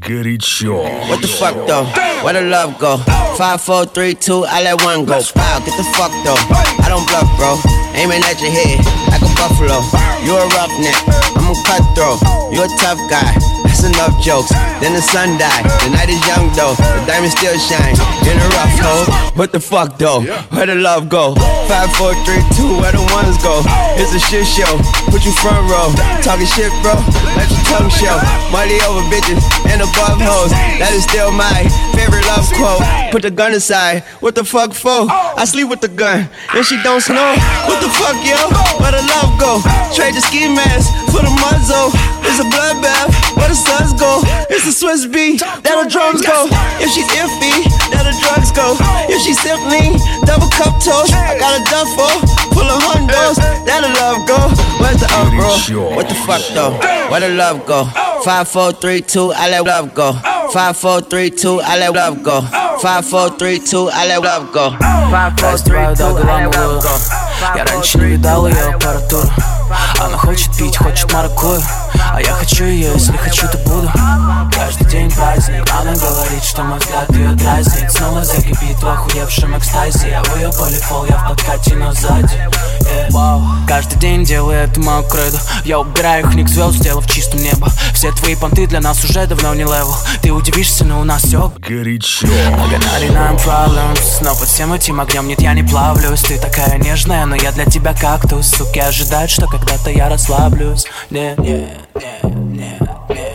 Горячо. What the fuck though? Where the love go? 5, 4, 3, 2, I let one go. Wow, get the fuck though. I don't bluff, bro. Aiming at your head like a buffalo. You a roughneck, I'm a cutthroat. You a tough guy. That's enough jokes. Then the sun died. The night is young though. The diamond still shine in a rough hole. What the fuck though? Where the love go? 5, 4, 3, 2, where the ones go? It's a shit show. Put you front row. Talking shit, bro. Let your tongue show. Money over bitches and above hoes. That is still my favorite love quote. Put the gun aside. What the fuck for? I sleep with the gun and she don't snow. What the fuck, yo? Where the love go? Trade the ski mask for the muzzle. It's a bloodbath. Where the suns go? It's a Swiss beat. That the drums go. If she's iffy, that the drugs go. If she's simply double cup toast, I got a duffel full of hundos. That the love go. Where's the up, bro? What the fuck though? Where the love go? 5, 4, 3, 2, I let love go. 5, 4, 3, 2, I let love go. 5, 4, 3, 2, I let love go. 5, 4, 3, 2, I let love go. Я раньше не видал ее аппаратуру. Она хочет пить, хочет маракую. А я хочу ее, если хочу, то буду. Каждый день праздник. Она говорит, что мой взгляд ее дразнит. Снова закипит в охуевшем экстазе. Я в ее полифол, я в подкате, но сзади. Каждый день делаю это мою кредо. Я убираю их ник звезд, сделав чистым небо. Все твои понты для нас уже давно не левел. Ты удивишься, но у нас все горячо. Нагнали нам problems, но под всем этим огнем нет, я не плавлюсь. Ты такая нежная, но я для тебя кактус. Суки ожидают, что когда-то я расслаблюсь. Не, не, не, не, не.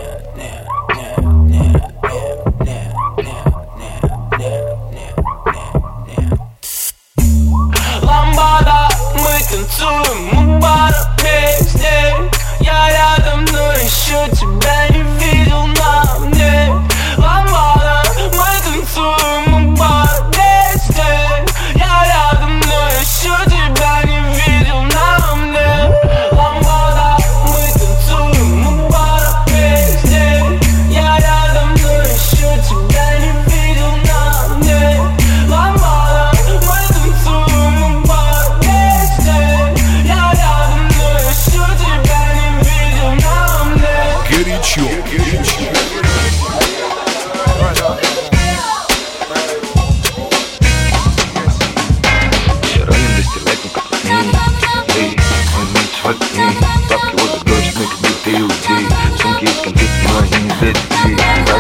Мы танцуем у бара песни. Я рядом, но еще тебя не видел на мне. Ламбада, мы танцуем у бара песни. Я рядом, но еще тебя не видел на мне. Ламбада, мы танцуем у бара песни. Я рядом, но еще тебя не видел на мне. Ламбада, мы танцуем у бара песни. Я рядом, но еще тебя не видел на мне. Горячо. Бабки возле дождь, мы как будто иудеи. Сумки из конфет, но они не для детей.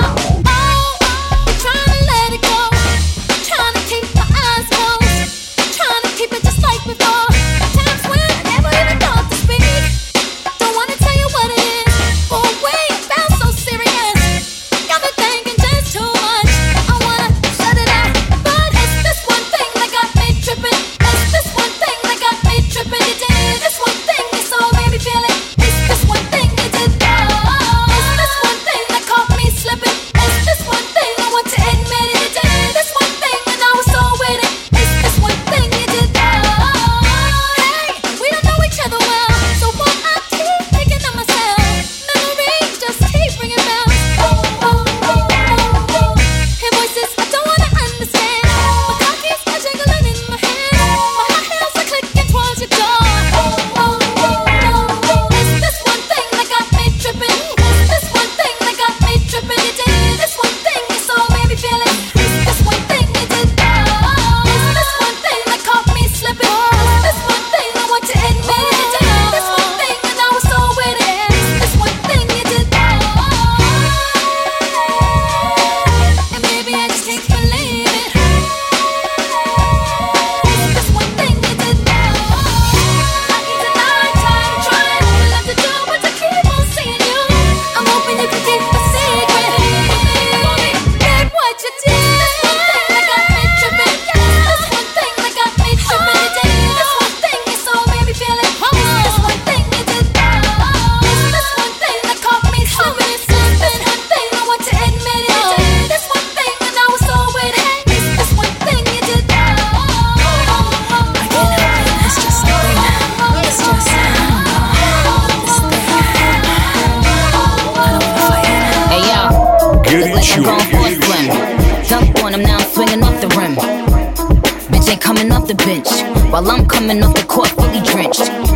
Dunk on him, now I'm swinging off the rim. Bitch ain't coming off the bench while I'm coming off the court fully drenched.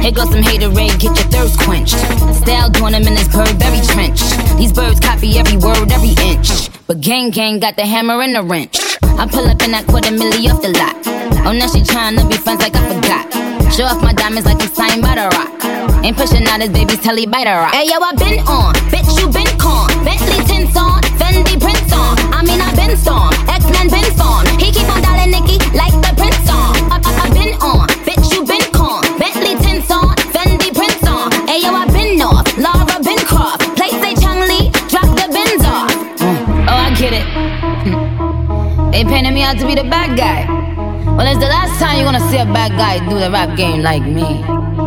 Here goes some haterade, get your thirst quenched. Style doing them in this Burberry trench. These birds copy every word, every inch. But gang got the hammer and the wrench. I pull up in that $250,000 off the lot. Oh, now she tryna be friends like I forgot. Show off my diamonds like I'm signed by the Rock. Ain't pushing out his baby's telly by the Rock. Hey yo, I been on, bitch you been con. Bentley tints on, Fendi prints on. I mean I been storm, X-Men been formed. He keep on dialing Nicki like the Prince on. I been on, bitch you been con. Bentley tints on, Fendi prints on. Hey yo, I been north, Laura been Croft. Play say Chung Lee, drop the bins off. Oh, I get it. They painted me out to be the bad guy. Well, it's the last time you're gonna see a bad guy do the rap game like me.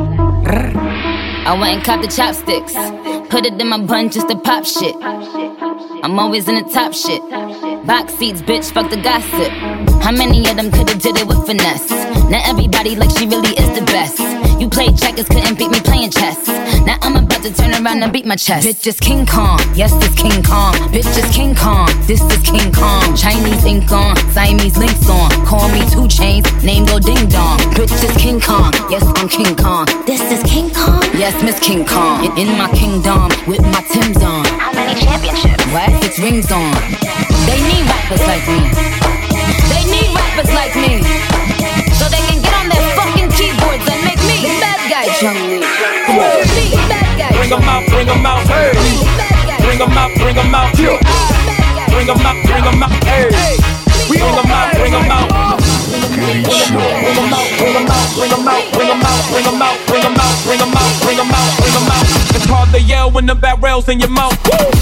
I went and copped the chopsticks, put it in my bun just to pop shit. I'm always in the top shit. Box seats, bitch, fuck the gossip. How many of them could've did it with finesse? Now everybody like she really is the best. You played checkers, couldn't beat me playing chess. Now I'm about to turn around and beat my chest. Bitch is King Kong, yes this King Kong. Bitch is King Kong, this is King Kong. Chinese ink on, Siamese links on. Call me 2 Chainz, name go ding dong. Bitch is King Kong, yes I'm King Kong. This is King Kong, yes Miss King Kong. In my kingdom, with my Timbs on. How many championships? What? 6 rings on. They need rappers like me. They need rappers like me. So they can get on their fucking keyboards and make me the bad guy, Chung Lee. Bring them out, bring them out, hey. Bring them out, bring them out, yeah. Bring them out, bring them out, hey. Bring them out, bring them out. Bring them out, bring them out, bring them out, bring them out, bring them out, bring them out, bring them out, bring them out, bring them out. It's hard to yell when the barrel's in your mouth.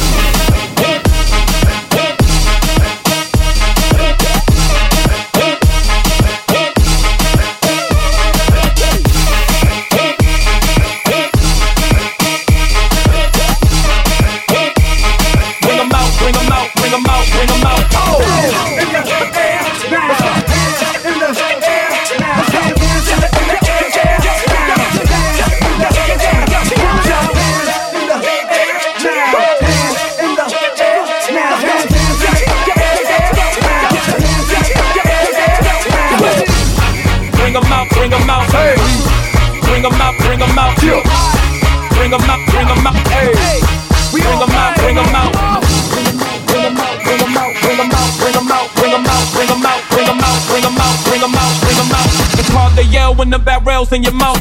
Bring them out, hey. Bring them out, bring them out, yeah. Bring them out, bring them out, hey. Bring them out, bring them out. Bring them out, bring them out, bring them out, bring them out, bring them out, bring them out, bring them out, bring them out, bring them out, bring them out. It's hard to yell when the barrel's in your mouth.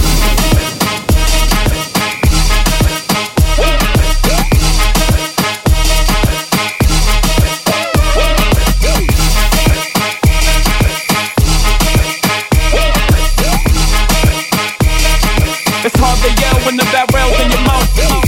It's hard to yell when the barrel's in your mouth.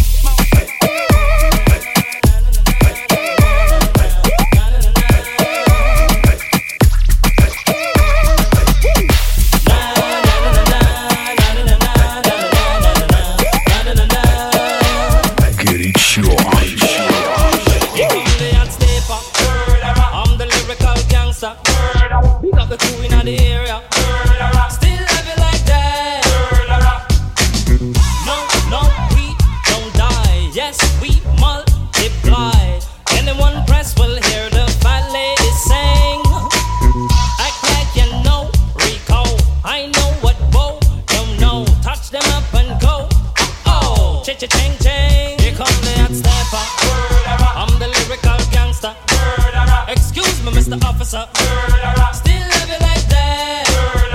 I'm the lyrical gangster. We got the crew in the area. Still love it like that. No, we don't die. Yes, we multiply. Anyone press will hear the fat lady sing. Act like you know Rico. I know what Bo don't know. Touch them up and go. Oh, ching ching. Here come the hot stepper. I'm the lyrical gangster. Excuse me, Mr. Officer. Still love it like that.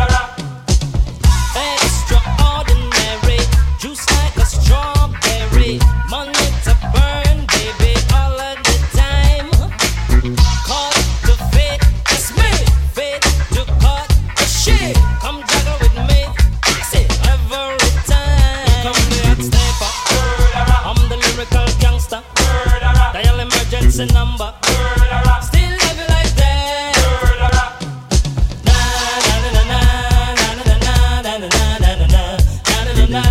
Extraordinary, juice like a strawberry. Money to burn, baby, all of the time. Call the fate, it's me. Fate to cut the shit. Come juggle with me, say every time. Come the hot stepper. I'm the lyrical gangster. Dial emergency number. Still love it like that. Na na na na na na na na na na na na na na.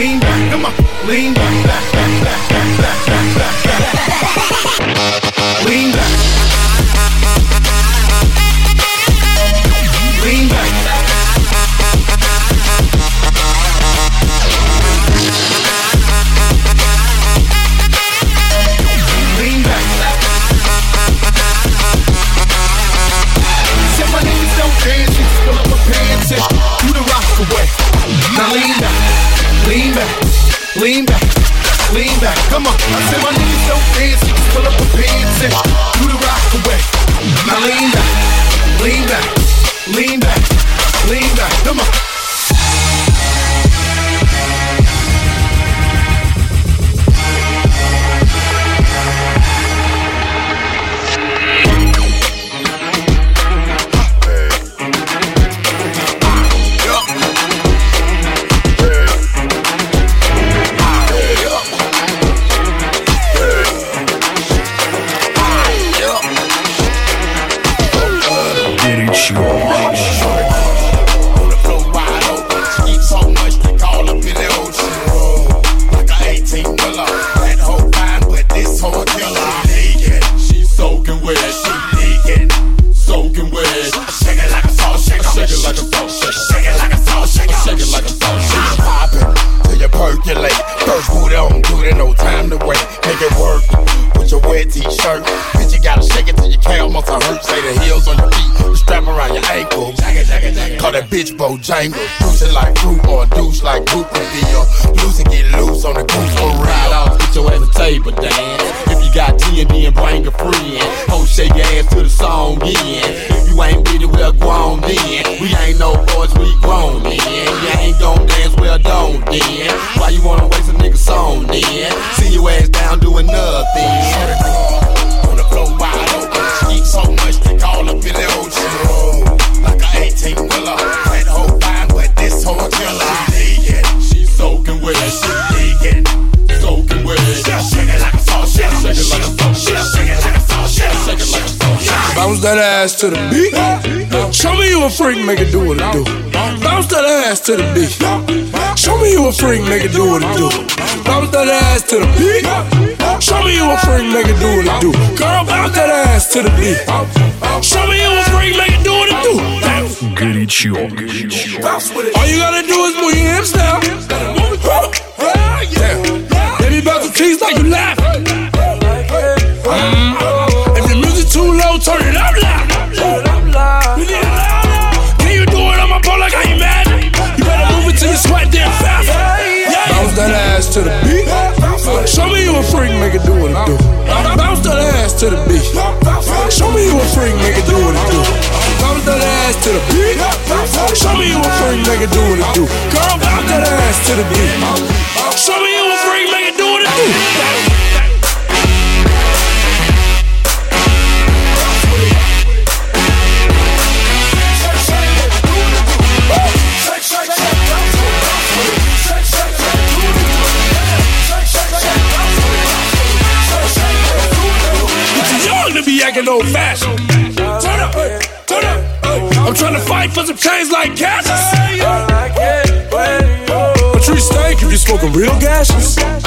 lean back, come on, lean back, back, back, back, back, back, back, back, back. Lean back. Lean back. Lean back. Said my niggas don't dance, just pull up my pants and do the rock away. Now lean back, lean back, lean back, lean back. Come on. I said my niggas don't dance, just pull up my pants and do the rock away. Now lean back, lean back, lean back, lean back. Come on. Bitch Bojangles, juicing like fruit or a douche like Goop would be or loose and get loose on the goose for real. Ride off, get your ass a table dance. If you got T&D and bring a friend, ho, shake your ass to the song in. If you ain't with it, well grown then. We ain't no boys, we grown then. You ain't gon' dance, well don't then. Why you wanna waste a nigga song then? See your ass down doing nothing. On the floor wide open, eat so much they call up in the ocean. Like a 18-wheeler. This whole killer, she's soaking with it, she leaking, soaking with it. Shake it like a salt, shake it like a salt, shake it like a salt, shake it like a salt. Bounce that ass to the beat. Show me you a freak, make it do what it do. Bounce that ass to the beat. Show me you a freak, make it do what it do. Bounce that ass to the beat. Show me you a freak, make it do what it do. Girl, bounce that ass to the beat. Show me you a freak, make it do what it do. Горячо. All you gotta do is move your hips now. Baby, bounce the tease like you laughing. If the music too low, turn it up loud. Can you do it on my pole like I ain't mad? You better move it till you sweat then fast. Bounce that ass to the beat. Show me you a freak, make it do what it do. Bounce that ass to the beat. Show me you a freak, make it do what it do. Bounce that ass to the beat. Show me you a freak, make it do what it do. Girl, bounce that ass to the beat. Show me you a freak, make it do what it do. Be acting old fashioned. Turn up, turn up. I'm trying to fight for some change like Cassius. A tree stank if you smoking real gases. It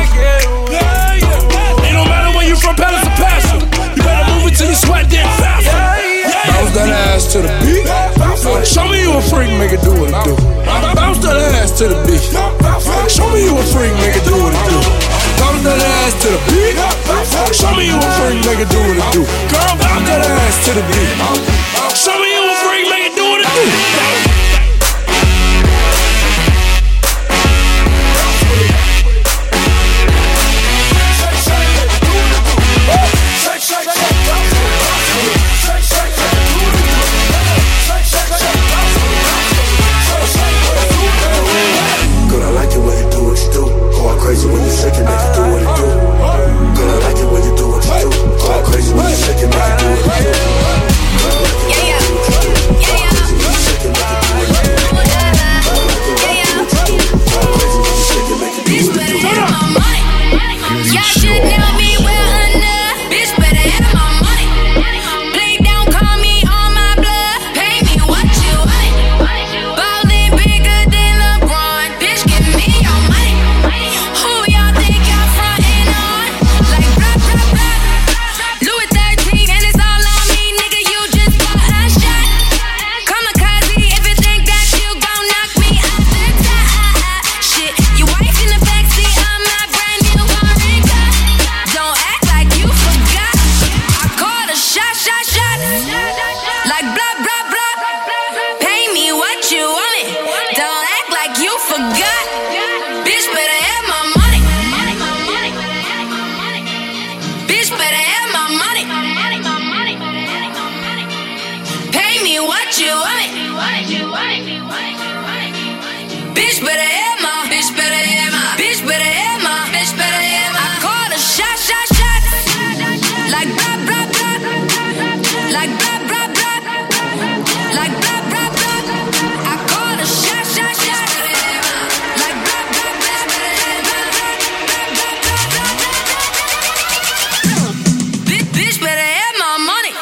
don't matter where you from, Palace or Passion. You better move it till you sweat then fast. Bounce that ass to the beat. Show me you a freak, make it do what it do. Bounce that ass to the beat. Show me you a freak, make it do what it do. Bounce that ass to the beat. Show me you a freak, make it do what it do. Girl, bounce that ass to the beat. Show me you a freak, make it do what it do. Girl, I like it when you do what you do. Going crazy when you shake it, make it do what it do. Girl, I like it when you do what you do. Going crazy when you shake it, make it do what it do. Bitch better hit my, bitch better hit my, bitch better hit my, bitch better hit my. I call a shot, shot, shot. Like blah, blah, blah. Like blah, blah, blah. Like blah, blah, blah. I call a shot, shot, shot. Like blah, blah, blah. Bitch better hit my money.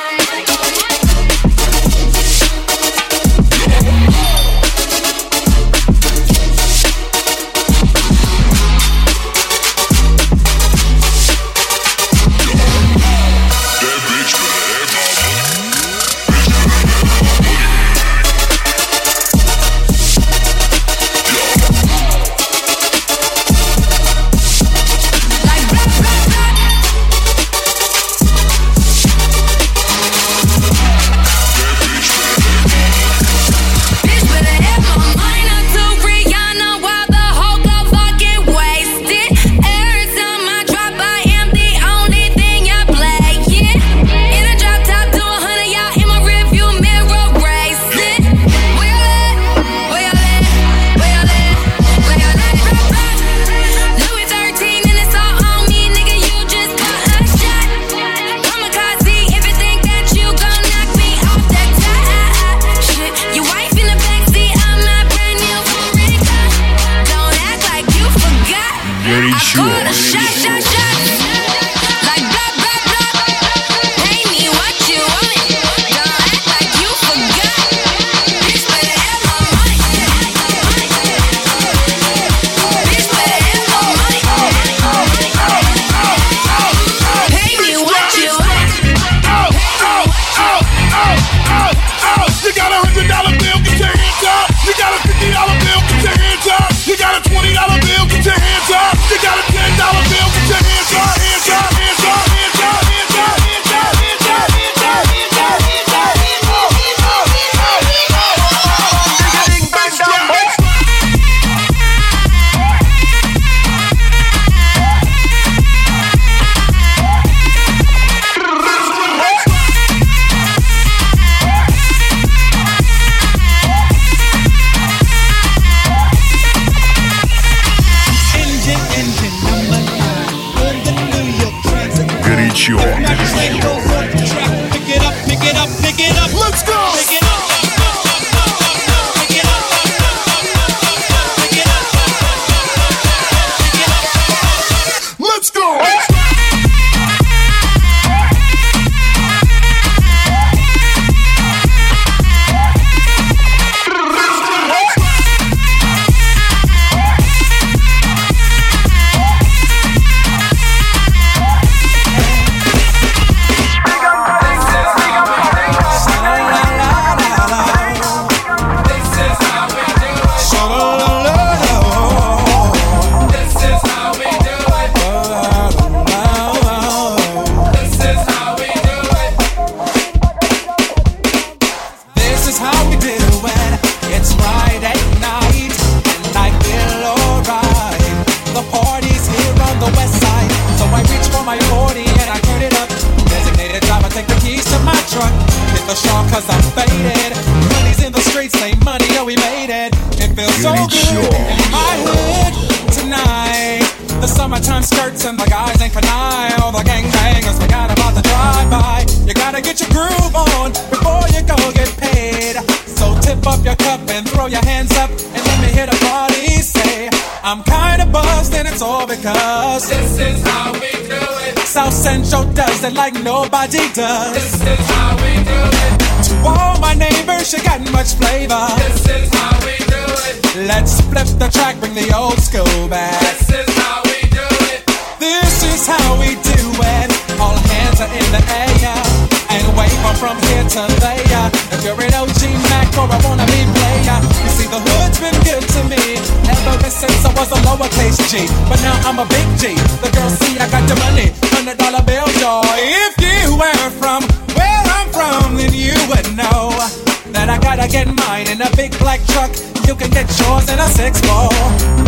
Like nobody does. This is how we do it. To all my neighbors, you got much flavor. This is how we do it. Let's flip the track, bring the old school back. This is how we do it. This is how we do it. All hands are in the air and wave from here to there. If you're an OG Mac or a wannabe player, you see the hood's been good to me ever since I was a lowercase G. But now I'm a big G. The girls see I got the money, $100 bill, y'all. If you were from where I'm from, then you would know that I gotta get mine in a big black truck. You can get yours in a 6-4.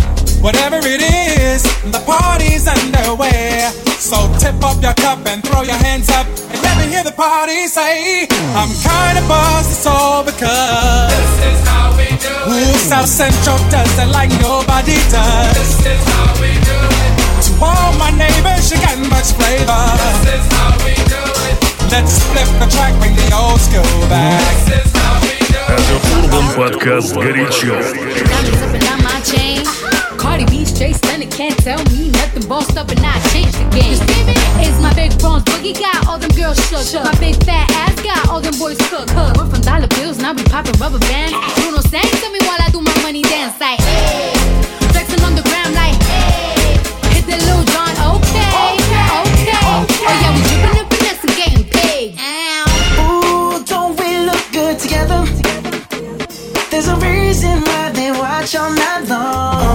Whatever it is, the party's underway. So tip up your cup and throw your hands up and let me hear the party say, I'm kinda buzzed, it's all because this is how we do it. South Central does it like nobody does. This is how we do it. To all my neighbors, you got much flavor. This is how we do it. Let's flip the track, bring the old school back. This is how we do it. Радиоурбан подкаст «Горячо». Cardi B straight stunning, can't tell me nothing. Bossed up and I changed the game. It's my big bronze boogie, got all them girls shook. My big fat ass got all them boys cooked. We're from dollar bills, now we popping rubber bands. Bruno sang to me while I do my money dance like, hey. Flexing on the ground like, hey. Hit the Lil Jon, okay. Oh yeah, we dripping and finesse and getting paid. Ooh, don't we look good together? There's a reason why they watch all night long.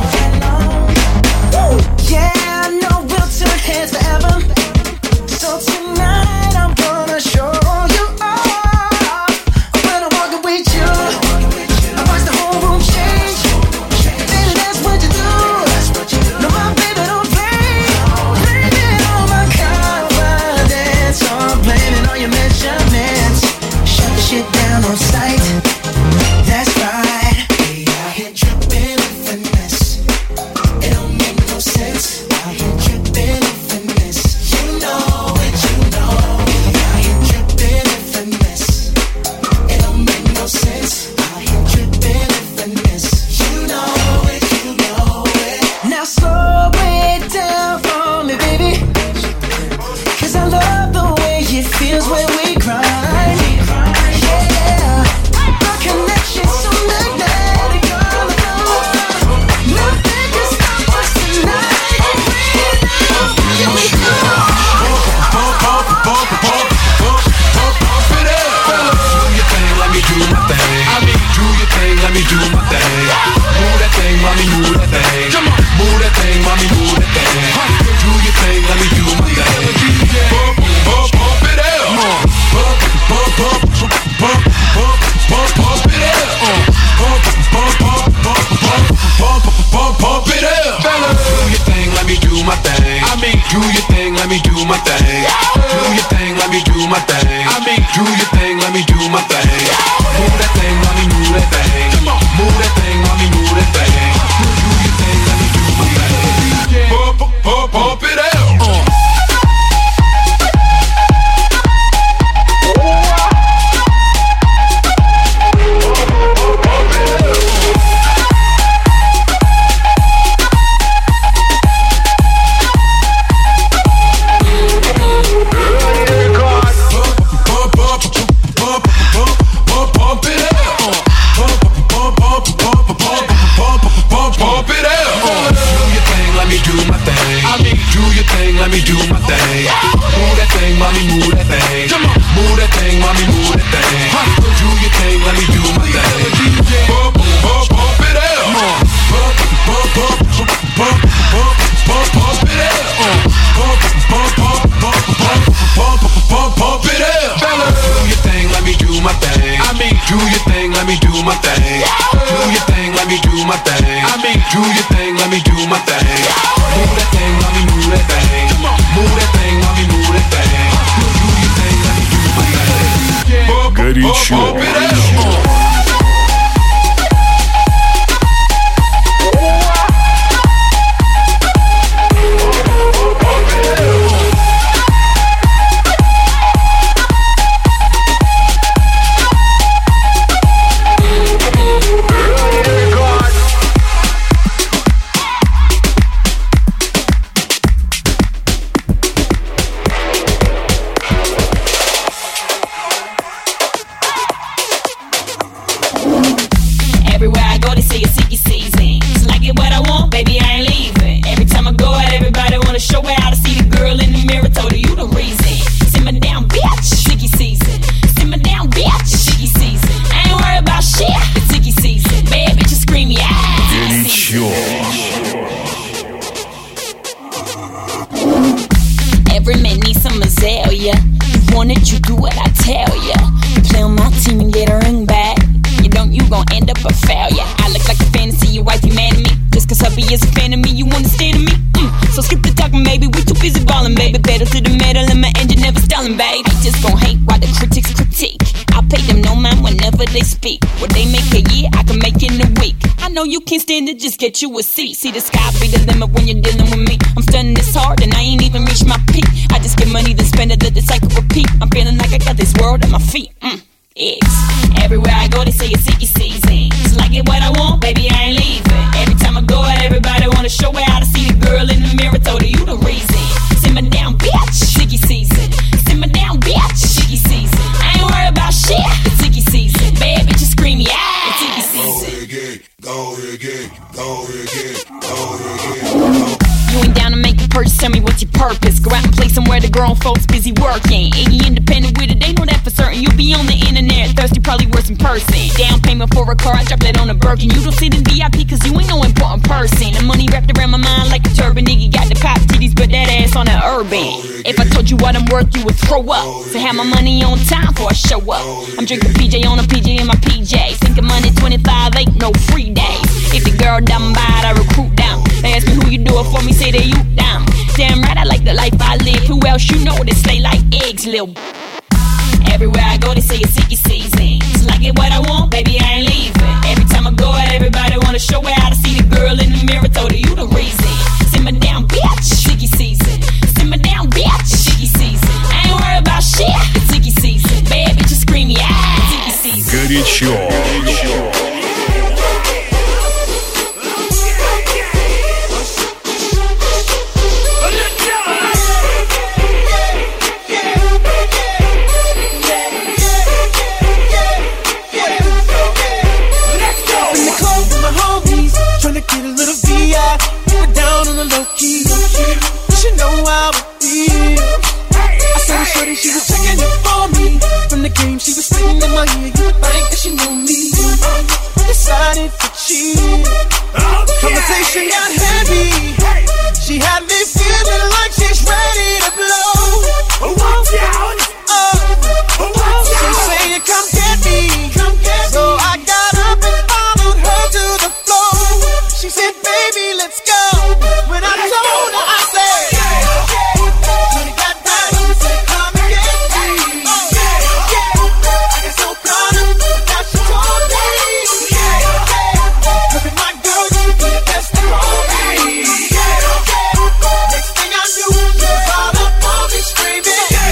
Yeah, I know we'll turn heads forever. So tonight I'm gonna show you off. When I'm walking with you, I watch the whole room change. Baby, that's what you do. No, my baby don't play. Blaming all my confidence, I'm blaming all your measurements. Shut the shit down on sight. That's right. We out here dripping in finesse. It don't make no sense. Out here dripping in finesse. You know it, you know. We out here dripping in finesse. It don't make no sense. Out here dripping in finesse. You know it, you know it. Now slow it down for me, baby. 'Cause I love the way it feels when we grind. Let me do my thing. Move that thing, mommy, move that thing. Come on, move that thing, mommy, move that thing. Do your thing, let me do my thing. Pump it up. Pump it up. Pump it up. Do your thing, let me do my thing. I mean, do your thing, let me do my thing. Do your thing, let me do my thing. I mean, do your thing, let me do my thing. Move that thing, mommy, move that thing. Come on, move that thing, mommy, move that thing. Do your thing, let me do my thing. Pump it up. Let me do my thing. Move that thing, mommy, move that thing. Come on, move that thing, mommy, move that thing. Do your thing, let me do my thing. Pump it up. Pump it up. Do your thing, let me do my thing. I mean, do your thing, let me do my thing. Do your thing, let me do my thing. I mean, do your thing, let me do my thing. Move that thing, mommy, move that thing. Move that thing, mommy, move that thing. Do your thing, let me do my thing. Горячо. Every man needs some azalea. You want it, you do what I tell ya. You play on my team and get a ring back. You don't, you gon' end up a failure. I look like a fantasy, your wife, you mad at me. Just cause hubby is a fan of me. they speak. What they make a year, I can make in a week. I know you can't stand it, just get you a seat. See the sky be the limit when you're dealing with me. I'm stunning this hard and I ain't even reached my peak. I just get money to spend it, let the cycle repeat. I'm feeling like I got this world at my feet. Eggs. Everywhere I go, they say it's icky season. It's like it what I want, baby, I ain't leaving. Every time I go out, everybody wanna show me how to see the girl in the mirror. Told her you the reason. Simmer down, bitch. Icky season. Simmer down, bitch. Icky season. I ain't worried about shit. It's icky season. Bad bitches scream, yeah. It's icky season. Go again. You ain't down to make a purchase, tell me what's your purpose. Go out and play somewhere the grown folks busy working. Iggy independent with it, they know that for certain. You be on the internet, thirsty, probably worse in person. Down payment for a car, I drop that on a Birkin. You don't sit in VIP cause you ain't no important person. The money wrapped around my mind like a turban. Iggy got the pop titties, but that ass on the urban. If I told you what I'm worth, you would throw up. So have my money on time before I show up. I'm drinking PJ on a PJ in my PJ. Sinking money 25, ain't no free days. If the girl down by it, I recruit down. They ask me who you do it for me, say that you down. Damn right, I like the life I live. Who else you know that slay like eggs, lil'? Everywhere I go, they say it's icky season. It's like it what I want, baby, I ain't leaving. Every time I go out, everybody wanna show me how to see the girl in the mirror. Told her you the reason. Simmer down, bitch. Icky season. Simmer down, bitch. Icky season. I ain't worried about shit. It's icky season. Bad bitches scream, yeah. It's icky season. Горячо. Get a little VI, put down on the low key. She know how I feel. I saw her shorty, she was checking it for me. From the game, she was singing in my ear. You would think that she knew me. Decided to cheat. Conversation got heavy. She had me feeling like she's ready to blow. Watch out! She saying, come get me. So I got up and followed her to the floor. She said, baby, let's go. When I told her, I said, when it got down, she said, come and get me. I got so caught up, now she told me. Cause if my girl, you be the best of all me. Next thing I knew, she was all up on me screaming.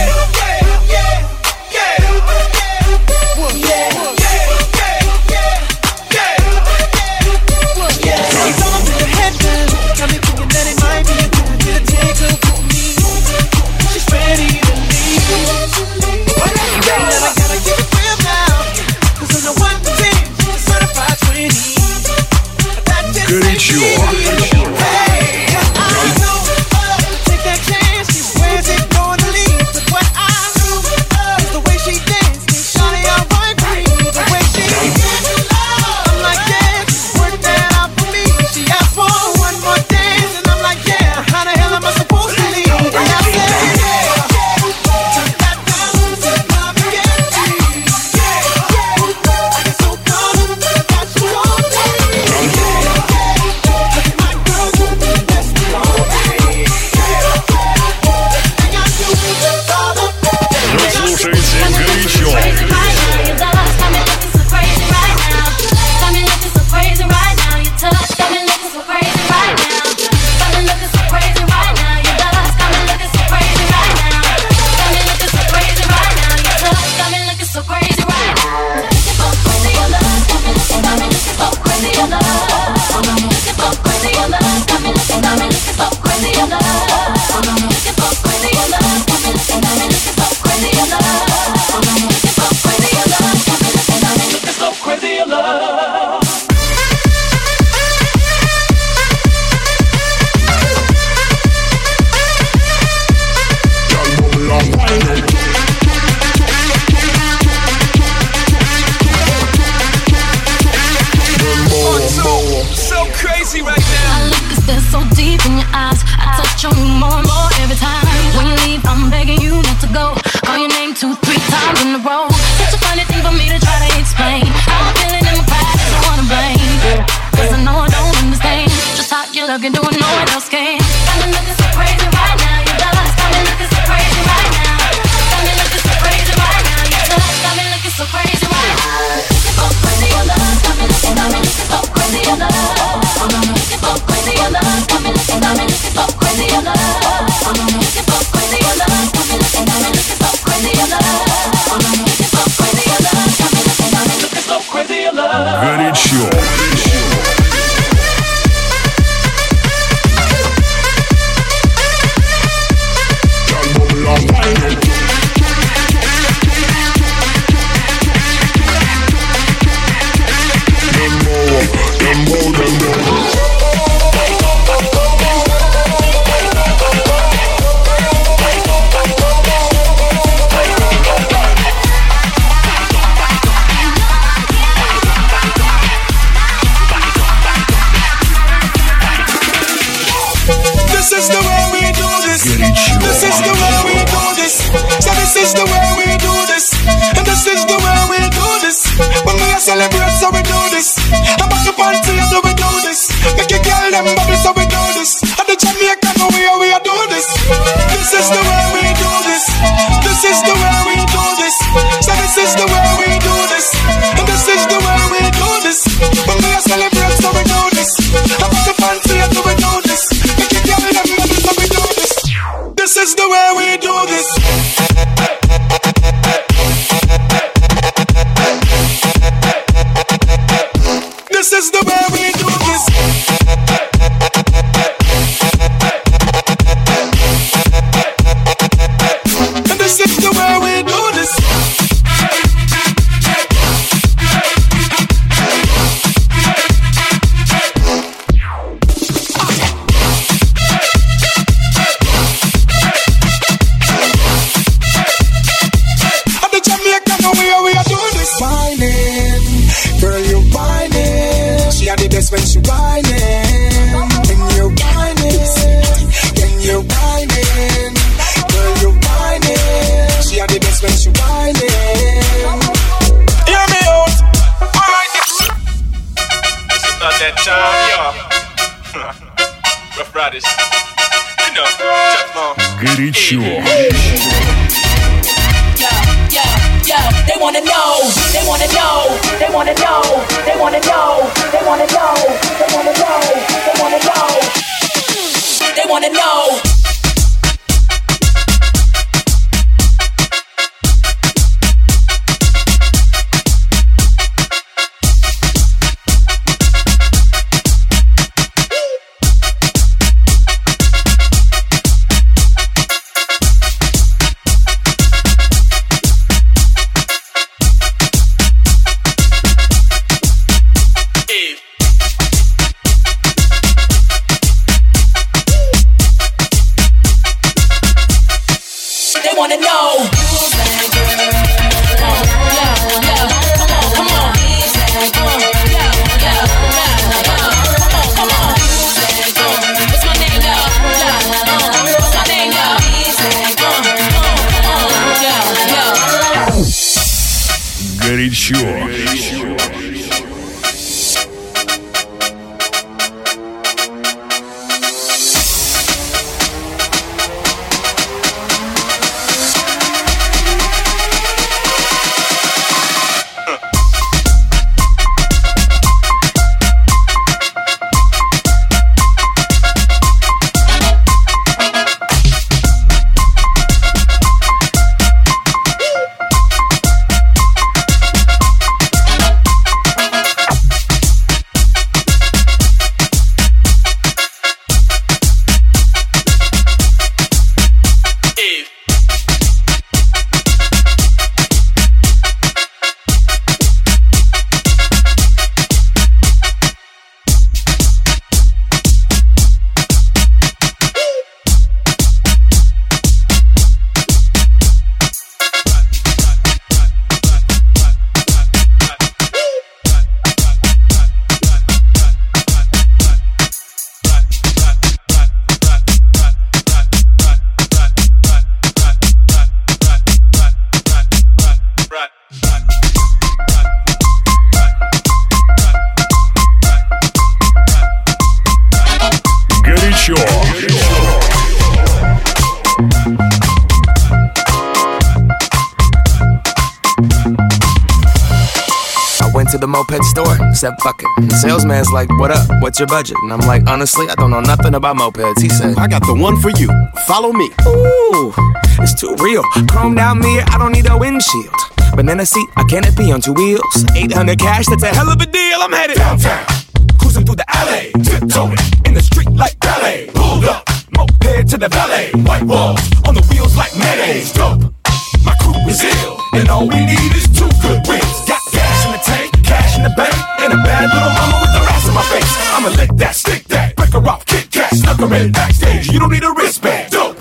Looking, doing no one else can. Got me looking so crazy right now. Your love's got me looking so crazy right now. Got me looking so crazy right now. Your love's got me looking so crazy right now. the way we do this. And this is the way we do this. When we are celebrate, so we do this. I put the fancy and so we do this. Make it girl them bubble, so we do this. This is the way we do this. This is the way we do this. And this is the way we do this. At the Jamaican, we are doing this. Whining, girl, you whining. She had the best when she whining. When you whining, when you whining, girl, you whining. She had the best when she whining. Hear me out. Alright, this is not that time, y'all. Rough Riders, you know, Teflon. Горячо. They wanna know, they wanna know, they wanna know, they wanna know, they wanna know, they wanna know, they wanna know, they wanna know. Горячо. To the moped store, said fuck it. The salesman's like, what up, what's your budget? And I'm like, honestly, I don't know nothing about mopeds. He said, I got the one for you, follow me. Ooh, it's too real. Chromed out mirror, I don't need a windshield. Banana seat, a canopy on two wheels. 800 cash, that's a hell of a deal. I'm headed downtown, cruising through the alley, tiptoeing in the street like ballet. Pulled up, moped to the valet. White walls on the wheels like mayonnaise. Dope, my crew is ill, and all we need is two good wheels. Got gas in the tank, cash in the bank, and a bad little mama with the rest of my face. I'ma lick that, stick that, break her off, kick cat, snuck her in backstage. You don't need a wristband. Dope.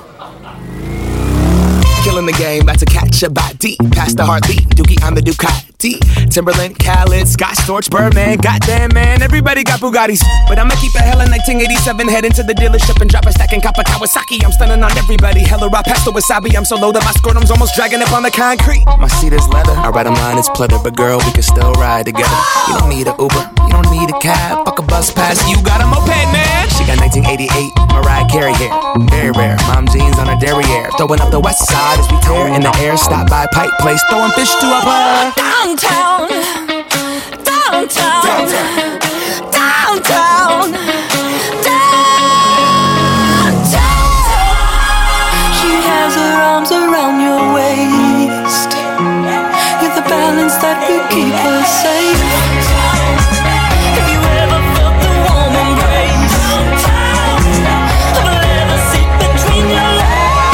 Killing the game, about to catch a body. Past the heartbeat, Dookie, I'm the Ducati. Timberland, Khaled, Scott Storch, Birdman. Goddamn, man, everybody got Bugattis. But I'ma keep it hella 1987. Head into the dealership and drop a stack in Kappa Kawasaki. I'm stunning on everybody. Hella raw pasta wasabi. I'm so low that my scrotum's almost dragging up on the concrete. My seat is leather. I ride a line, it's pleather. But girl, we can still ride together. You don't need an Uber, you don't need a cab. Fuck a bus pass, you got a moped, man. She got 19 1988, Mariah Carey hair, very rare. Mom jeans on a derriere, throwing up the west side as we tear in the air. Stop by Pike Place, throwing fish to a player. Downtown, downtown, downtown, downtown. She has her arms around your waist. You're the balance that will keep her safe. Have you ever felt the warm embrace of a leather seat between your legs?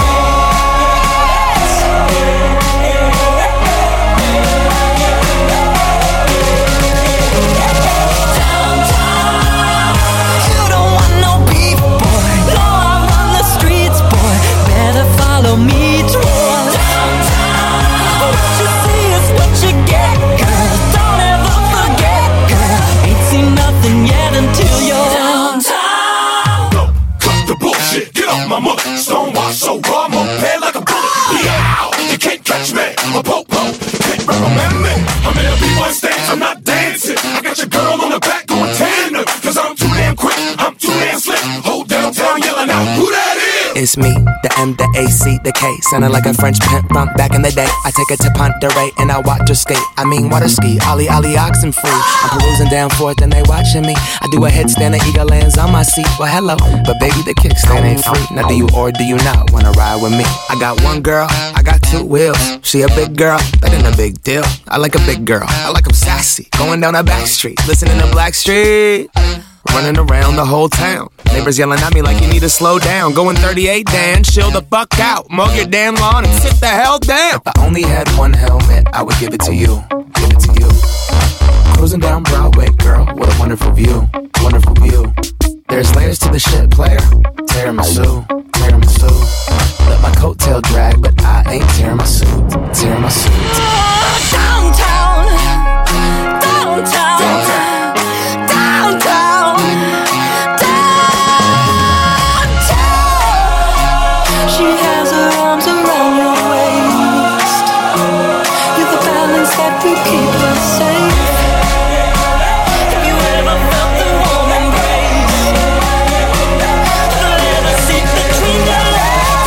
Follow me toward downtown. What you see is what you get, girl. Don't ever forget, girl. Ain't seen nothing yet until you're downtown. No, cut the bullshit. Get off my mother. Stonewash so raw, I'm pay like a bullet. Yow, you can't catch me. I'm a po-po. Can't recommend me. I'm in a B1 stage. I'm not dancing. I got your girl on the back going tender. Cause I'm too damn quick. I'm too damn slick. Whole downtown yelling out, who that is? It's me, the M, the A, C, the K. Sounding like a French pimp from back in the day. I take her to Ponderay and I watch her skate. I mean water ski, ollie, oxen free. I'm perusing down Fourth and they watching me. I do a headstand, the eagle lands on my seat. Well, hello, but baby, the kickstand ain't free. Now do you or do you not wanna ride with me? I got one girl, I got two wheels. She a big girl, that ain't a big deal. I like a big girl, I like 'em sassy. Going down a back street, listening to Blackstreet. Running around the whole town. Neighbors yelling at me like you need to slow down. Going 38, Dan, chill the fuck out. Mow your damn lawn and sit the hell down. If I only had one helmet, I would give it to you. Give it to you. Cruising down Broadway, girl, what a wonderful view. Wonderful view. There's layers to the shit, player. Tiramisu, tiramisu. Let my coattail drag, but I ain't tearing my suit. Tearing my suit. Downtown, downtown, downtown, downtown. She has her arms around your waist. You're the balance that will keep her safe. Have you ever felt the warm embrace of a leather seat between your legs?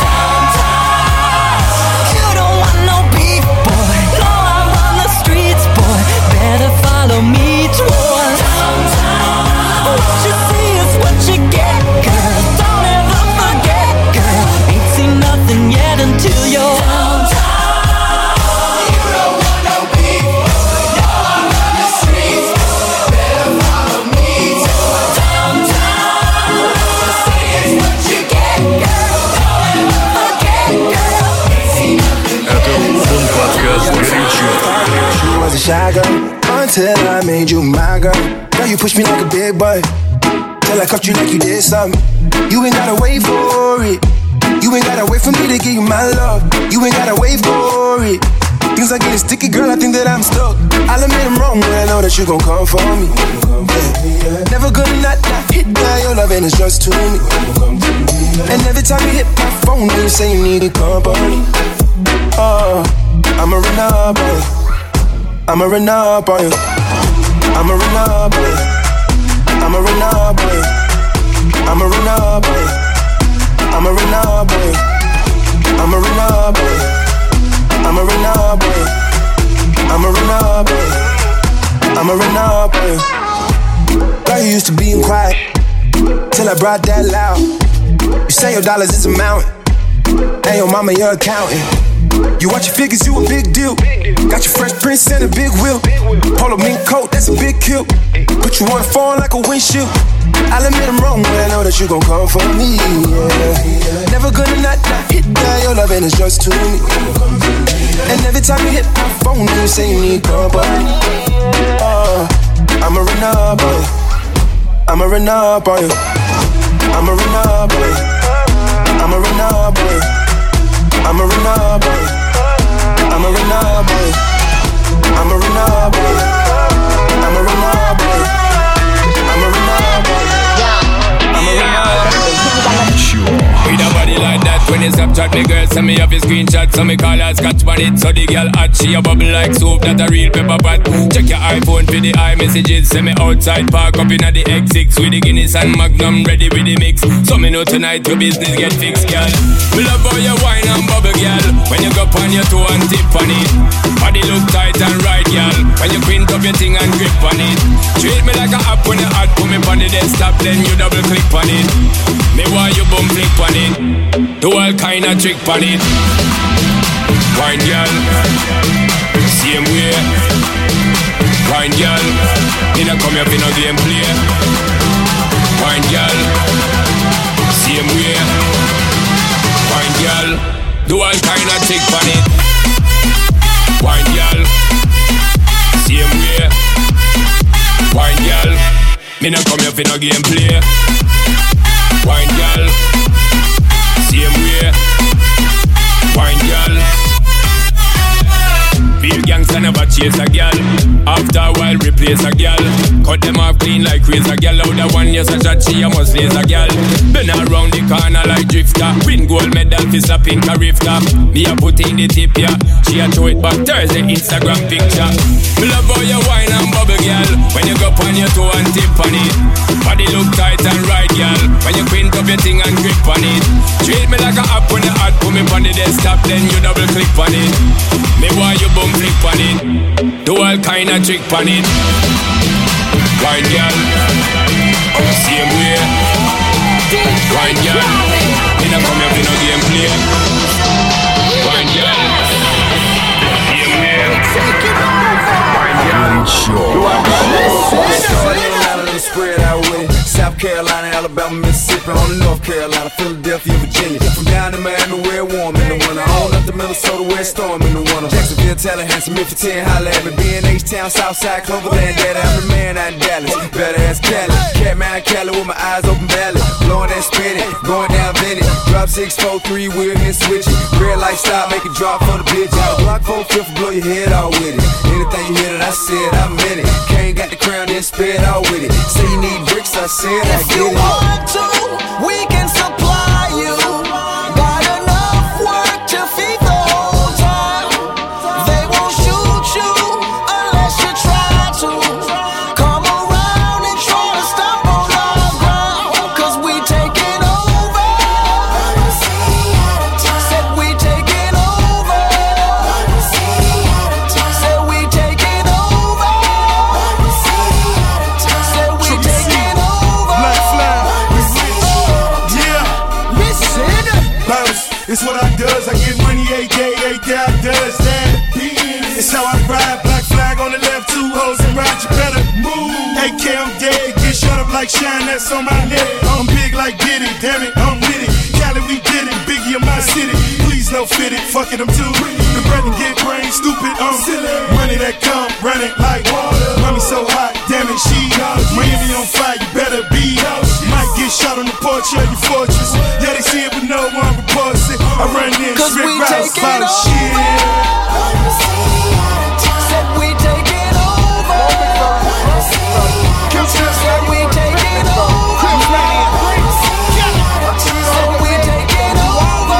Downtown. You don't want no beef, boy. No, I run the streets, boy. Better follow me toward downtown. What you see is what you get, girl. Don't ever forget, girl. Ain't seen nothing yet until you're downtown. You don't want no people. No, I run the streets. Better follow me toward downtown. What you see is what you get, girl. Don't ever forget, girl. Ain't seen nothing yet until you're downtown. You was a shy girl until I made you my girl. Now you push me like a big boy. Till I cuffed you like you did something. You ain't gotta wait for it. You ain't gotta wait for me to give you my love. You ain't gotta wait for it. Things are getting sticky, girl, I think that I'm stuck. I'll admit I'm wrong, but I know that you gon' come for me. Yeah. Never gonna not hit that, your loving is just to me. And every time you hit my phone, you say you need company. Oh, I'ma run up on you. I'ma run up on you. I'ma run up on you. I'ma run up on you. I'ma run up on you. I'ma run up on you. I'ma run up on you. I'ma run up on you. I'ma run up on you. I'ma run up on you. Girl, you used to being quiet till I brought that loud. You say your dollars is a mountain, and your mama your accountant. You watch your figures, you a big deal. Got your Fresh Prince and a big wheel. Polo mink coat, that's a big kill. Put you on the phone like a windshield. I'll admit I'm wrong, but I know that you gon' come for me. Yeah. Never gonna not hit that, your loving is just to me. And every time you hit my phone, you say you need company. Oh, I'ma run up on you. I'ma run up on you. I'ma run up on you. I'ma run up on you. I'ma run up on you. I'ma run up on you. I'ma run up on you. I'ma run up on you. I'ma run up on you. I'ma run up on you. With a body like that, when you stop chat, Me girl send me off a screenshot, so me call her scotch on it. So the girl hot, she a bubble like soup, that a real pepper pot. Check your iPhone for the iMessages. Send me outside, park up inna the X6 with the Guinness and Magnum ready with the mix. So me know tonight your business get fixed, girl. Me love how you wine and bubble, girl. When you go on your toe and tip on it, body look tight and right, girl. When you print up your thing and grip on it, treat me like a app when you hot. Put me on the desktop, then you double click on it. Me want you bum flick on it. Do all kind of trick on it. Wine, girl. Same way. Wine, girl. You don't come here for no game play. Wine, girl. Same way. Wine, girl. Do all kind of trick on it. Wine, girl. Same way. Wine, girl. Me not come here for no game play. Wine, girl. Same way. Wine, girl. Feel gangsta never chase a girl. After a while replace a girl. Cut them off clean like razor girl. Out the one you such a she a must laser girl. Been around the corner like drifter. Win gold medal for a pink a rifter. Me a put in the tip ya. She a throw it back Thursday Instagram picture. Me love how you wine and bubble girl. When you go on your toe and tip on it. Body look tight and right girl. When you print up your thing and grip on it. Treat me like a app when you hot. Put me on the desktop then you double click on it. Me want you bum flick on it. Do all kind of trick on it. Wine girl. Same way. Wine girl. Me not come here for no game play. Wine girl. Same way. Wine girl. Spread out with it. South Carolina, Alabama, Mississippi, on the North Carolina, Philadelphia, Virginia. From down to Miami, where it's warm in the winter. On up to Minnesota, where it's storm in the winter. Jacksonville, Tallahassee, Memphis, 10, holla at me. B&H-Town, Southside, Cloverland, Daddy, I'm the man out in Dallas. Better ass Cali, Catman, Cali with my eyes open valley. Blowing that spinning, going down Bennett. Drop 6, 4, 3, wheel hit switch it. Red light stop, make it drop for the bitch. Out Block 4, 5th, blow your head out with it. Anything you hear that I said, I meant it. Kane got the crown, then spit out with it. Say you need bricks, I said I get it. If you want to, we can supply you. Got enough work to feed the whole town. They won't shoot you unless you try to. Come around and try to stop on our ground. Cause we taking over. Said we taking over. Said we taking over. Said we taking over. It's what I does, I get money every day I does that. It's how I ride, black flag on the left, 2 hoes and ride, you better move. AK, I'm dead, get shut up like shine, that's on my neck. I'm big like Diddy, damn it, I'm with it. Cali, we did it, Biggie in my city. Please no fit it, fuck it, I'm too. The bread and get brain, stupid, silly. Money that come, run it like water. Mommy so hot, damn it, she Miami on fire, you better be. Might get shot on the porch of your fortress. Yeah, they see it, but no one reports it. I run in, strip routes, about shit. Said we taking over. Said we taking over. Said we taking over.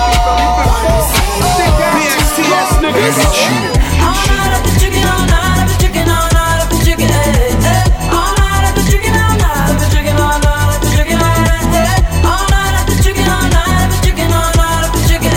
BXTS niggas. All night I've been drinking, all night I've been drinking, all night I've been drinking, all night I've been drinking, all night I've been drinking, all night I've been drinking, all night I've been drinking, all night I've been drinking, all night I've been drinking,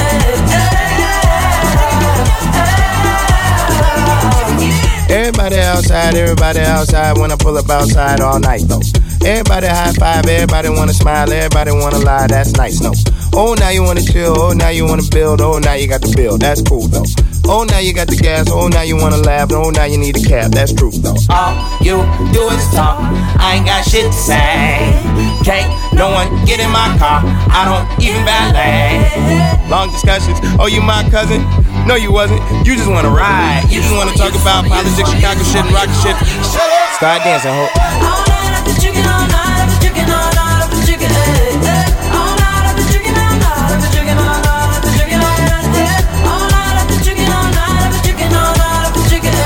Everybody outside when I pull up outside all night though. Everybody high five, everybody wanna smile, everybody wanna lie, that's nice, no. Oh, now you wanna chill, oh, now you wanna build, oh, now you got the bill, that's cool though. Oh, now you got the gas, oh, now you wanna laugh, oh, now you need a cab, that's true though. All you do is talk, I ain't got shit to say. Can't no one get in my car, I don't even valet. Long discussions, oh, you my cousin? No, you wasn't, you just wanna ride. You just wanna talk about politics, Chicago shit, and rock shit. Start dancing, ho. All night I've been drinking, all night I've been drinking, all night I've been drinking, all night I've been drinking, all night I've been drinking, all night I've been drinking, all night I've been drinking, all night I've been drinking, all night I've been drinking.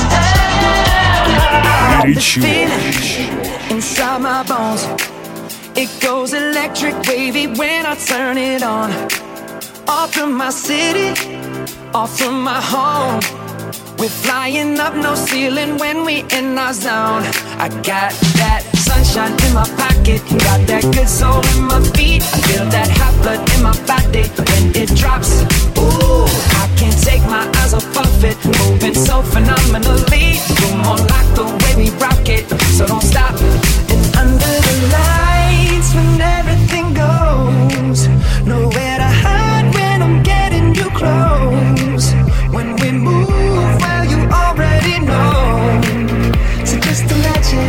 Feeling inside my bones. It goes electric wavy when I turn it on. Off from my city, off from my home. We're flying up, no ceiling when we in our zone. I got that sunshine in my pocket, got that good soul in my feet. I feel that hot blood in my body when it drops. Ooh, I can't take my eyes off of it, moving so phenomenally. You're more like the way we rock it, so don't stop. And under the lights when everything goes, nowhere to hide when I'm getting you close. When we move, well, you already know. So just imagine.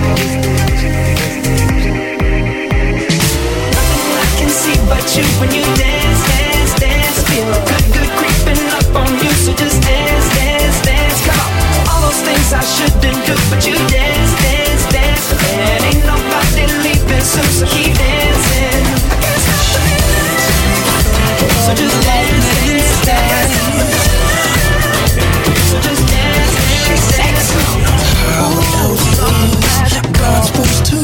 Nothing I can see but you when you dance, dance, dance. Feel good, good creeping up on you. So just dance, dance, dance. Come on. All those things I shouldn't do, but you dance, dance, dance. And ain't nobody leaving soon, so keep dancing. I can't stop the feeling. So just dance, dance, dance. So just dance, dance, dance. God's supposed to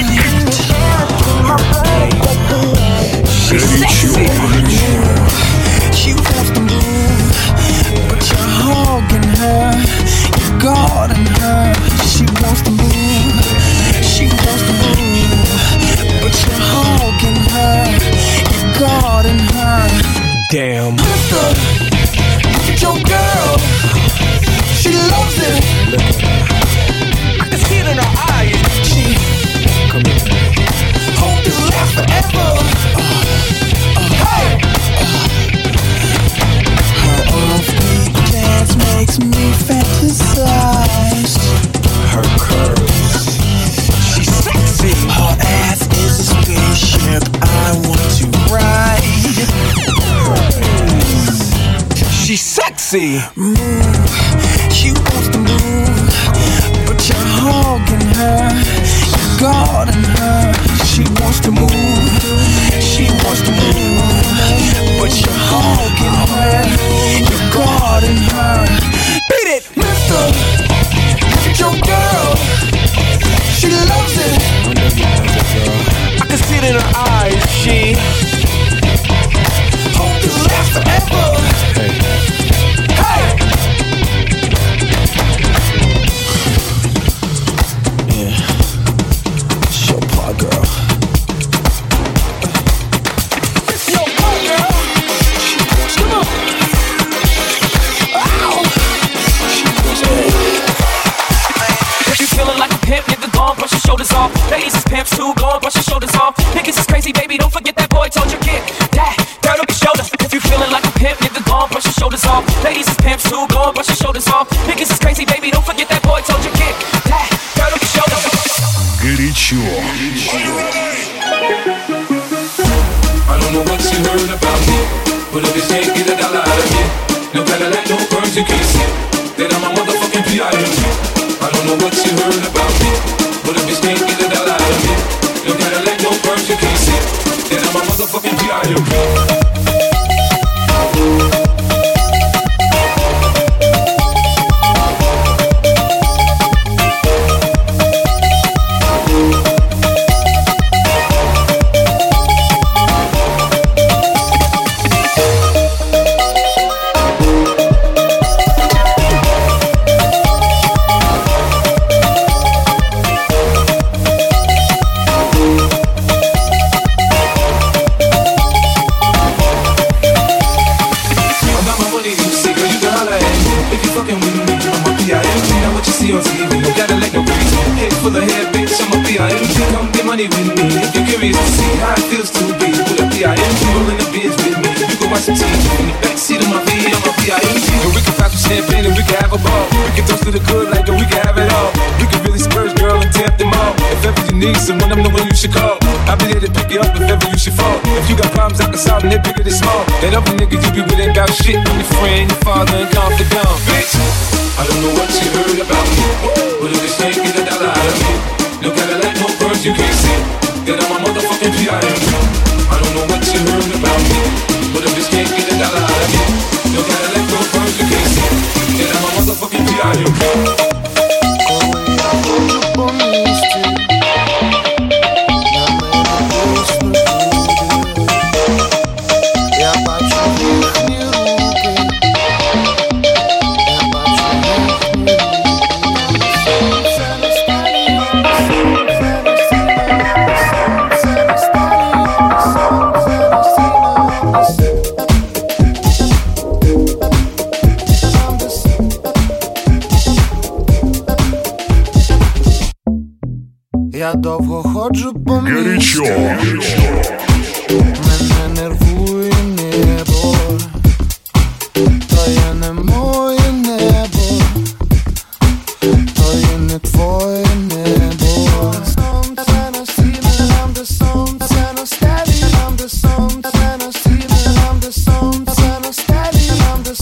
she's sexy. She wants to move, but you're hogging her. You're guarding her. She wants to move. She wants to move, but you're hogging her. You're guarding her. Damn. Look at your girl. She loves it. I can see it in her eyes. She hope this lasts forever. Hey. Her off-beat dance makes me fantasize. Her curves, she's sexy. Her ass is a spaceship I want to ride. She's sexy. Move, she wants to move, but you're hogging her, you're guarding her. She wants to move, she wants to move, but you're hogging her, you're guarding her. Beat it, mister. Look at your girl, she loves it. I can see it in her eyes. She hope this lasts forever. Ladies is pimps too, go and brush your shoulders off. Niggas is crazy, baby, don't forget that boy told you get that dirt on your shoulder. If you feeling like a pimp, nigga, go and brush your shoulders off. Ladies is pimps too, go and brush your shoulders off. Niggas is crazy, baby, don't forget that boy told you get that dirt on your shoulder. Горячо. I don't know what you heard about me, but if you can't get a dollar out of me, no Cadillac, no perms, you can't see that I'm a motherfucking P.I.M.G. I don't know what you heard about me, but if you can't get a dollar out of me, no Cadillac, no perms, you can't see that I'm a motherfucking P.I.M.G. Someone I'm the one you should call. I'll be there to pick you up if ever you should fall. If you got problems I can solve them, they're bigger than small. That other nigga you be with ain't about shit. I'm your friend, your father, and confidant. Bitch, I don't know what you heard about me, but if you can't get a dollar out of me, no Cadillac, no perms, you can't see that I'm a motherfucking P.I.M.G. I don't know what you heard about me, but if you can't get a dollar out of me, no Cadillac, no perms, you can't see that I'm a motherfucking P.I.M.G. Я довго ходжу по Горячо. Мене нервує небо, то є не моє небо, то є не твоє небо. Сонце на східне, нам де сонце на стелі, нам де сонце на східне, нам де сонце на стелі, нам де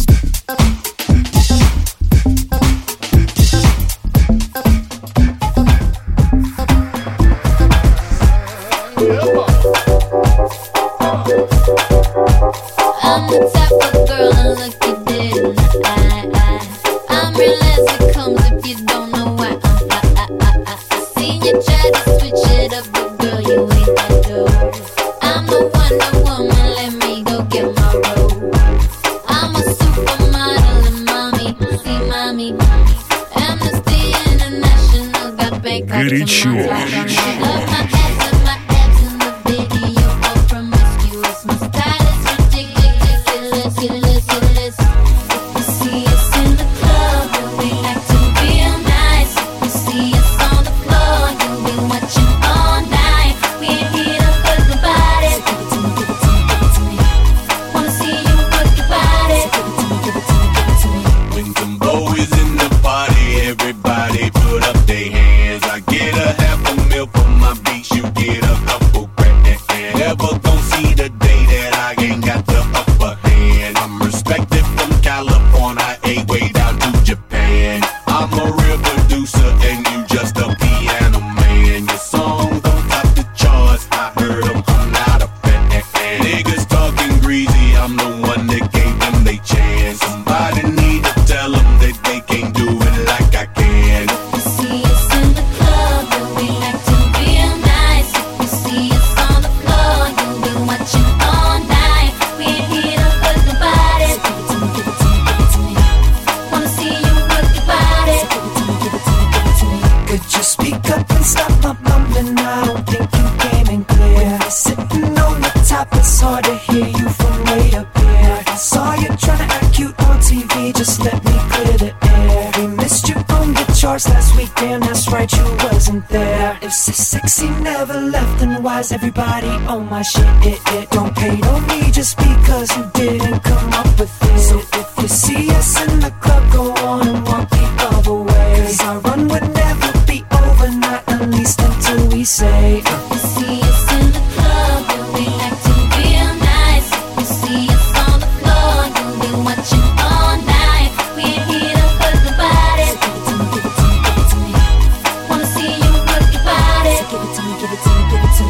I'm the type of girl that look you dead in the eye. I'm real as it comes if you don't know why. I seen you try to switch it up, but girl, you ain't that dope. I'm the Wonder Woman, let me go get my robe. I'm a supermodel and mommy, see mommy. Amnesty International got Bangkok to Горячо. my flight. Love my ass and my abs in the video, all promiscuous. My style is ridiculous. If you see us in the club, you'll be acting real nice. If you see us on the floor, you'll be watching all night. We ain't here to hurt nobody. So give it to me, give it to me, give it to me. Wanna see you work your body. So give it to me, give it to me, give it to me. When Timbo is in the party, everybody put up their hands. I get a half a mil for my beats, you get a couple grand. Never gon' see the day that I ain't got the upper hand. I'm respected from California, way down to Japan. I'm a real producer and you just a piano man. Your song don't top the charts, I heard them, I'm not a fan. Niggas talking greasy, I'm the one that gave them they chance. Somebody need to tell them that they can't do it like I can. If you see us in the club, you'll be acting real nice. If you see us on the floor, you'll be watching all night. We ain't here to hurt nobody. So give it to me, give it to me, give it to me. Wanna see you work your body. So give it to me, give it to me, give it to me. Could you speak up and stop my mumbling? I don't think you came in clear. You're sitting on the top, it's hard to hear you from way up here. I saw you trying to act cute on TV, just let me clear the air. We missed you on the charts last week, damn that's right, you wasn't there. If so sexy never left, then why's everybody on my shit? Don't hate on me just because you didn't come up with it. So if you see us in the club, go on and walk the other way. 'Cause our run would never be over, not at least until we say If you see us in the club, you'll be acting real nice. If you see us on the floor, you'll be watching all night. We ain't here to hurt nobody. So give it to me, give it to me, give it to me. Wanna see you work your body. So give it to me, give it to me, give it to me.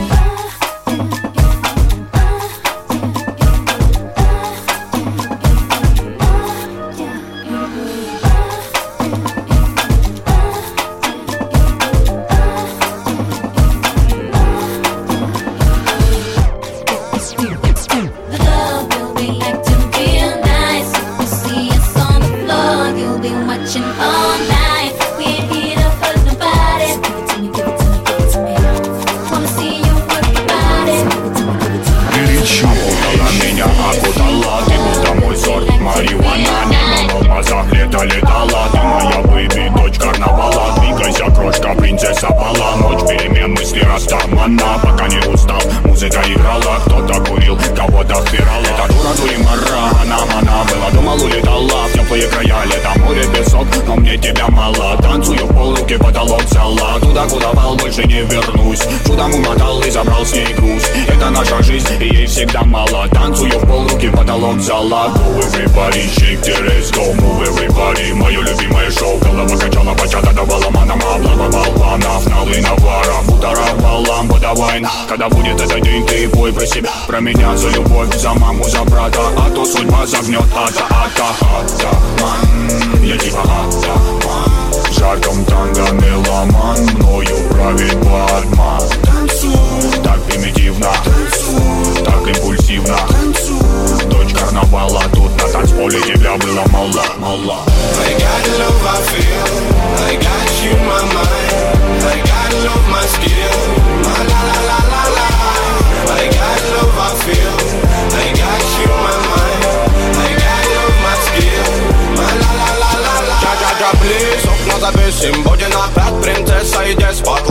The club, you'll be acting real nice. If you see us on the floor, you'll be watching all night. We ain't here to hurt nobody. So give it to me, give it to me, give it to me. Wanna see you work your body. So give it to me, give it to me. Горячо. Окутала меня, окутала. Ты будто мой сорт марихуана. Мимо в алмазах летала. Ты моя бэйби, дочь карнавала. Двигайся, крошка, принцесса пала. Ночь перемен, мысли растамана. Пока не устал, музыка играла. Кто-то курил, кого-то впирала. Это дура, дуримара, она была, думал, улетала в теплые края. Лето, море, песок, но мне тебя мало. Танцую в полруки, потолок зала. Туда, куда вал, больше не вернусь. Чудом умотал и забрал с ней груз. Это наша жизнь, и ей всегда мало. Танцую в полруки, потолок зала. Go everybody, shake the let's go. Move everybody, мое любимое шоу. Голова качала, бачата давала манам. Облава болванов, налы навара. Бутара балам, подавай. Когда будет этот день, ты пой про себя. Про меня, за любовь, за маму, за брата. А то судьба загнет, атаман. Я типа атаман. В жарком танго меломан. Мною правит Батман. Так примитивно, так импульсивно. Дочь карнавала, тут на танцполе тебя было мало. I got love I feel, I got you in my mind. I got love my skill, my la la la la la. I got love I feel, I got you in my mind. I got love my skill, my la la la la la. Please, окна запишем, будет опять принцесса и деспот.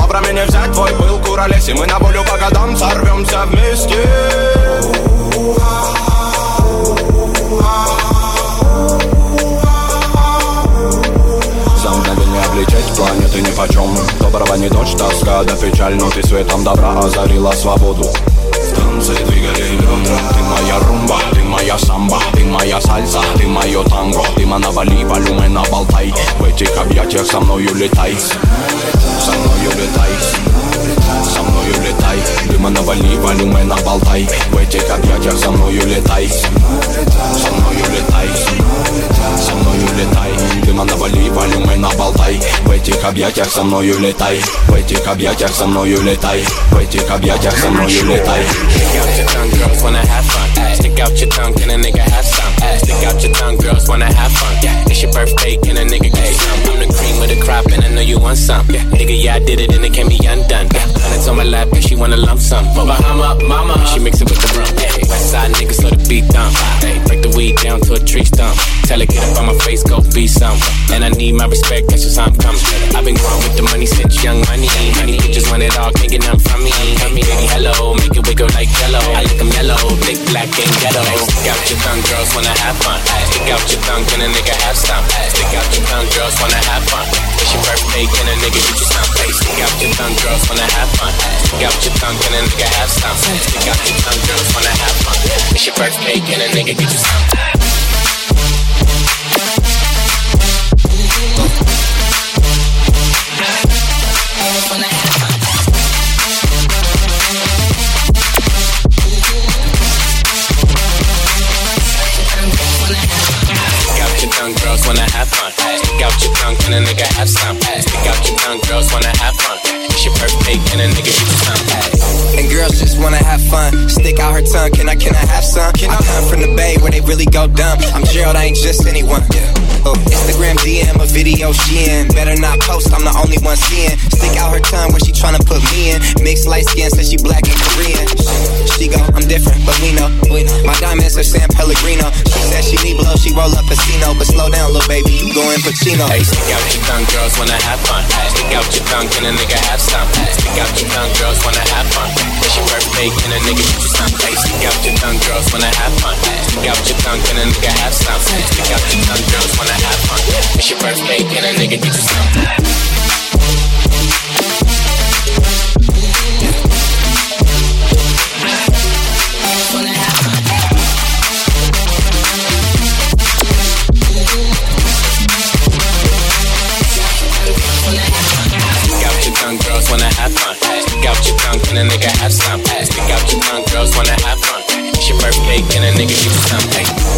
Лаврами не взять твой пыл, куролес. И мы на волю по годам сорвемся вместе. За мгновение облететь планеты нипочем. Доброго не дождь, тоска да печаль, но ты светом добра озарила свободу. Танцы двигали бедра. Ты моя румба, ты моя самба, ты моя сальса, ты мое танго. Дыма на Бали, волюме на Болтай. В этих объятиях со мною летай. Со мною летай. Со мною летай. Дыма на Бали, волюме на Болтай. В этих объятиях со мною летай. Со мною летай. Со мною летай. Дыма на Бали, волюме на Болтай. В этих объятиях со мною летай. В этих объятиях со мною летай. В этих объятиях со мною летай. Stick out your tongue, girls wanna have fun. Stick out your tongue, can a nigga have some? Stick out your tongue, girls wanna have fun. It's your birthday, can a nigga get some? I'm the cream of the crop and I know you want some. Nigga, yeah, I did it and it can't be undone. Hundreds on my lap and she wanna lump sum. Bahama, mama, she mix it with the rum. West side niggas so the beat thump. Break the weed down to a tree stump. Tell her get up on my face, go be some. And I need my respect, that's just how I'm coming. I've been growing with the money since young money. Honey bitches want it all, can't get nothing from me. Tell me, baby, hello, make it wiggle like yellow. I like them yellow, thick, black, and ghetto. Stick out your tongue, girls wanna have fun. Stick out your tongue, can a nigga have some? Stick out your tongue, girls wanna have fun. It's your birthday, can a nigga get you some? Stick out your tongue, girls wanna have fun. Stick out your tongue, can a nigga have some? Stick out your tongue, girls wanna have fun. It's your birthday, can a nigga get you some? Girls wanna have fun. Stick out your tongue, can a nigga have some? Stick out your tongue, girls wanna have fun. It's your birthday, can a nigga get you some? And girls just wanna have fun. Stick out her tongue, can I have some? I come from the Bay where they really go dumb. I'm Gerald, I ain't just anyone. Instagram DM a video she in. Better not post, I'm the only one seeing. Stick out her tongue where she tryna put me in. Mixed light skin, says she black and Korean. She go, I'm different, but we know. My diamonds are San Pellegrino. She said she need blow, she roll up casino. But slow down, little baby, you going Pacino. Hey, stick out your tongue, girls wanna have fun. Stick out your tongue, can a nigga have some? Stick out your tongue, girls wanna have fun. It's your birthday, can a nigga get you some? Hey, stick out your tongue, girls wanna have fun. Stick out your tongue, can a nigga have some? Stick out your tongue, girls wanna have fun. It's your birthday, can a nigga get you some? Girls wanna have fun. Stick out your tongue, can a nigga have some? Stick out your tongue, girls wanna have fun. It's your birthday, can a nigga get you some?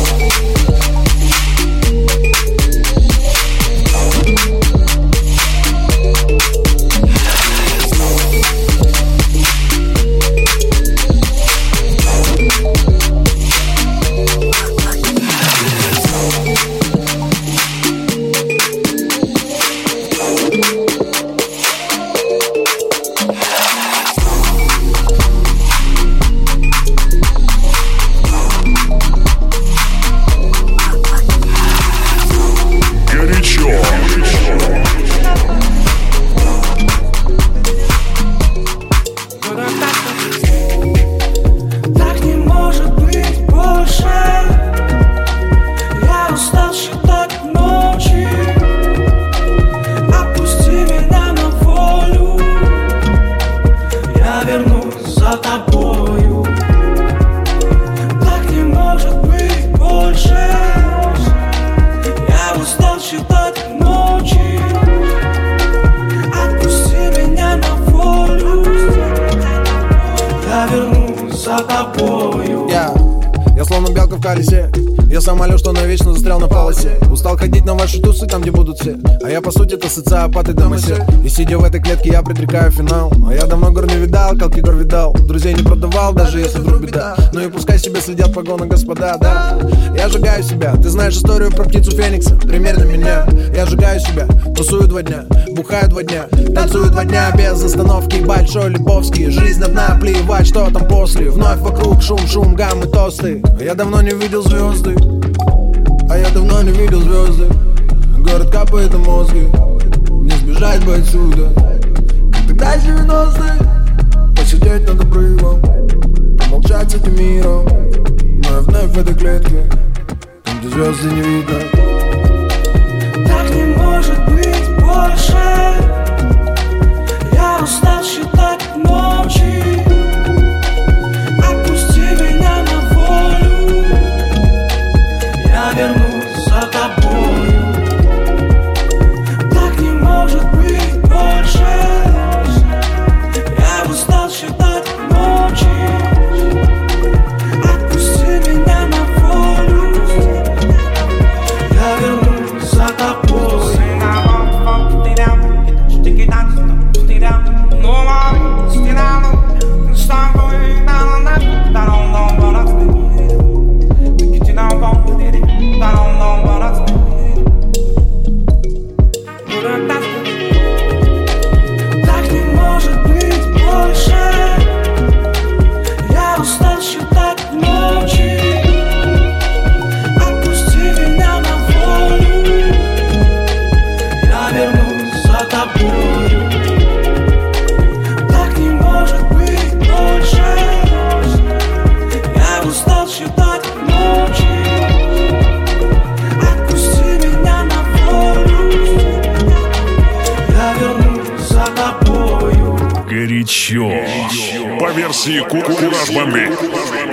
Я словно белка в колесе. Я самолет, что навечно застрял на полосе. Устал ходить на ваши тусы, там где будут все. А я по сути это социопат и домосед. И сидя в этой клетке я предрекаю финал. А я давно гор не видал, как Егор видал. Друзей не продавал, даже если вдруг беда. Ну и пускай себе следят погоны господа, да. Я сжигаю себя, ты знаешь историю про птицу Феникса. Примерно меня, я сжигаю себя. Тусую 2 дня, бухаю 2 дня. Танцую 2 дня без остановки. Большой Лебовский, жизнь одна, плевать, что там после. Вновь вокруг шум, гаммы, тосты. Я давно не видел звезды. А я давно не видел звезды. Город капает на мозги. Не сбежать бы отсюда. Тогда из 90-х посидеть над обрывом, помолчать с этим миром, но я вновь в этой клетке, там, где звезды не видно. Так не может быть больше. Я устал считать ночи. Отпусти меня на волю. Я вернусь за тобою. Так не может быть больше. Я устал считать ночи. Отпусти меня на волю. Я вернусь за тобой. Так не может быть больше. Я устал считать ночи. Отпусти меня на волю. Я вернусь за тобою. Так не может быть больше. Я устал считать ночи. Отпусти меня на волю. Я вернусь за тобою. Горячо. По версии Кураж Бомбей.